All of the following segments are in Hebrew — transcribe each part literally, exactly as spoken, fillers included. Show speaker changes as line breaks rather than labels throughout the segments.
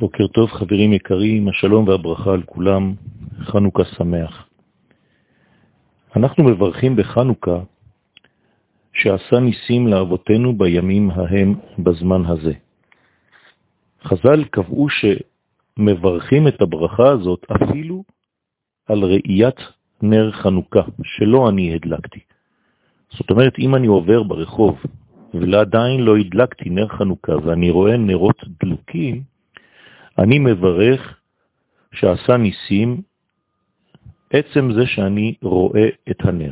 בוקר טוב חברים יקרים, השלום והברכה על כולם, חנוכה שמח. אנחנו מברכים בחנוכה שעשה ניסים לאבותינו בימים ההם בזמן הזה. חז"ל קבעו שמברכים את הברכה הזאת אפילו על ראיית נר חנוכה, שלא אני הדלקתי. זאת אומרת, אם אני עובר ברחוב ולעדיין לא הדלקתי נר חנוכה ואני רואה נרות דלוקים, אני מברך שעשה ניסים עצם זה שאני רואה את הנר.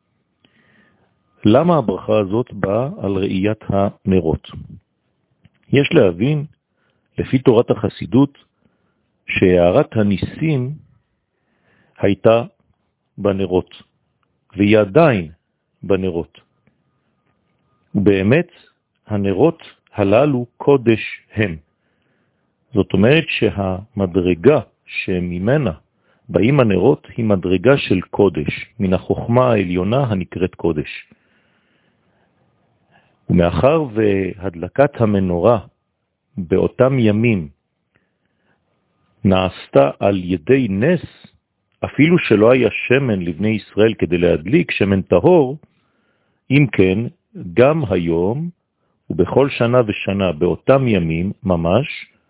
למה הברכה הזאת באה על ראיית הנרות? יש להבין, לפי תורת החסידות, שהערת הניסים הייתה בנרות, והיא עדיין בנרות. ובאמת, הנרות הללו קודש הם. זאת אומרת שהמדרגה שממנה באים הנרות היא מדרגה של קודש, מן החוכמה העליונה הנקראת קודש. ומאחר והדלקת המנורה באותם ימים נעשתה על ידי נס, אפילו שלא היה שמן לבני ישראל כדי להדליק שמן טהור, אם כן, גם היום ובכל שנה ושנה באותם ימים ממש,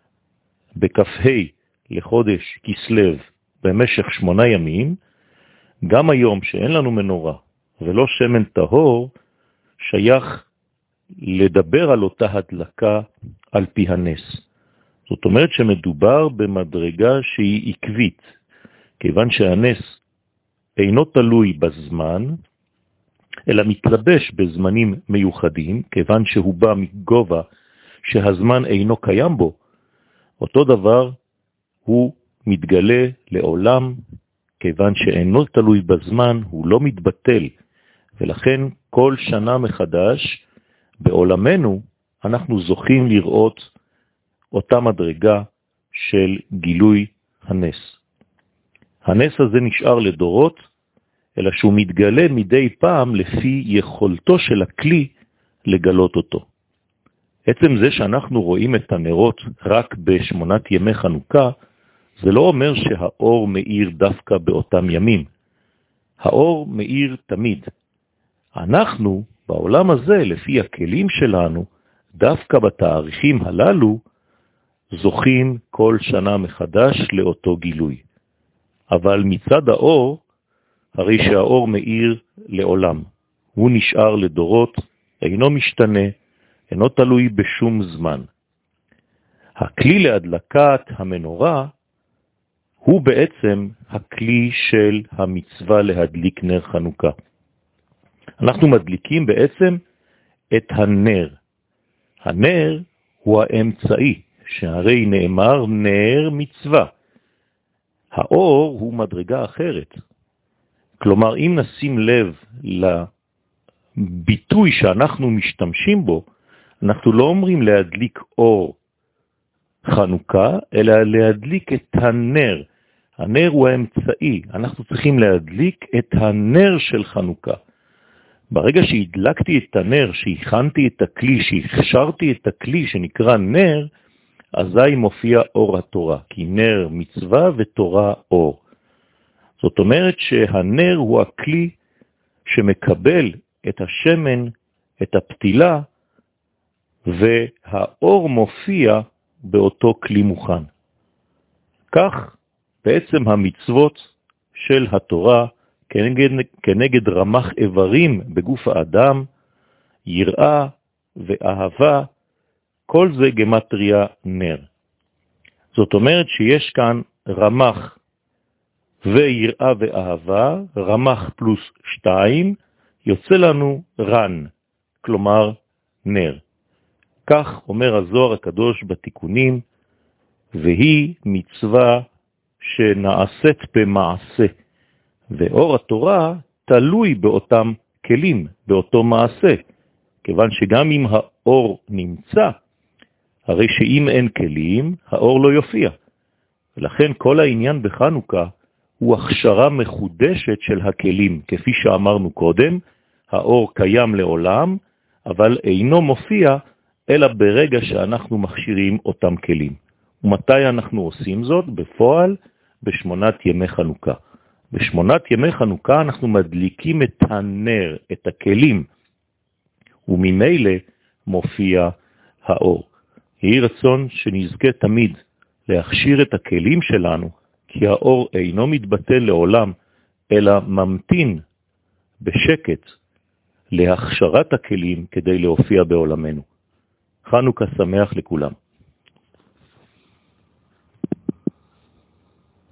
בכ"ה לחודש כסלו במשך שמונה ימים, גם היום שאין לנו מנורה ולא שמן טהור, שייך לדבר על אותה הדלקה על פי הנס. זאת אומרת שמדובר במדרגה שהיא עקבית, כיוון שהנס אינו תלוי בזמן, אלא מתלבש בזמנים מיוחדים, כיוון שהוא בא מגובה שהזמן אינו קיים בו. אותו דבר הוא מתגלה לעולם, כיוון שאינו תלוי בזמן, הוא לא מתבטל, ולכן כל שנה מחדש בעולמנו אנחנו זוכים לראות אותה מדרגה של גילוי הנס. הנס הזה נשאר לדורות, אלא שהוא מתגלה מדי פעם לפי יכולתו של הכלי לגלות אותו. עצם זה שאנחנו רואים את הנרות רק בשמונת ימי חנוכה, זה לא אומר שהאור מאיר דווקא באותם ימים. האור מאיר תמיד. אנחנו, בעולם הזה, לפי הכלים שלנו, דווקא בתאריכים הללו, זוכים כל שנה מחדש לאותו גילוי. אבל מצד האור, הרי שהאור מאיר לעולם. הוא נשאר לדורות, אינו משתנה, אינו תלוי בשום זמן. הכלי להדלקת המנורה הוא בעצם הכלי של המצווה להדליק נר חנוכה. אנחנו מדליקים בעצם את הנר. הנר הוא האמצעי, שהרי נאמר נר מצווה. האור הוא מדרגה אחרת. כלומר, אם נשים לב לביטוי שאנחנו משתמשים בו, אנחנו לא אומרים להדליק אור חנוכה, אלא להדליק את הנר. הנר הוא האמצעי. אנחנו צריכים להדליק את הנר של חנוכה. ברגע שהדלקתי את הנר, שהכנתי את הכלי, שהכשרתי את הכלי שנקרא נר, אזי מופיע אור התורה, כי נר מצווה ותורה אור. זאת אומרת שהנר הוא הכלי שמקבל את השמן, את הפתילה, והאור מופיע באותו כלי מוכן. כך בעצם המצוות של התורה כנגד, כנגד רמח איברים בגוף האדם, יראה ואהבה, כל זה גמטריה נר. זאת אומרת שיש כאן רמח ויראה ואהבה, רמח פלוס שתיים, יוצא לנו רן, כלומר נר. כך אומר הזוהר הקדוש בתיקונים, והיא מצווה שנעשית במעשה, ואור התורה תלוי באותם כלים, באותו מעשה, כיוון שגם אם האור נמצא, הרי שאם אין כלים, האור לא יופיע. ולכן כל העניין בחנוכה הוא הכשרה מחודשת של הכלים, כפי שאמרנו קודם, האור קיים לעולם, אבל אינו מופיע אלא ברגע שאנחנו מכשירים אותם כלים. ומתי אנחנו עושים זאת? בפועל, בשמונת ימי חנוכה. בשמונת ימי חנוכה אנחנו מדליקים את הנר, את הכלים, וממילא מופיע האור. יהי רצון שנזכה תמיד להכשיר את הכלים שלנו, כי האור אינו מתבטל לעולם, אלא ממתין בשקט להכשרת הכלים כדי להופיע בעולמנו. חנוכה שמח לכולם.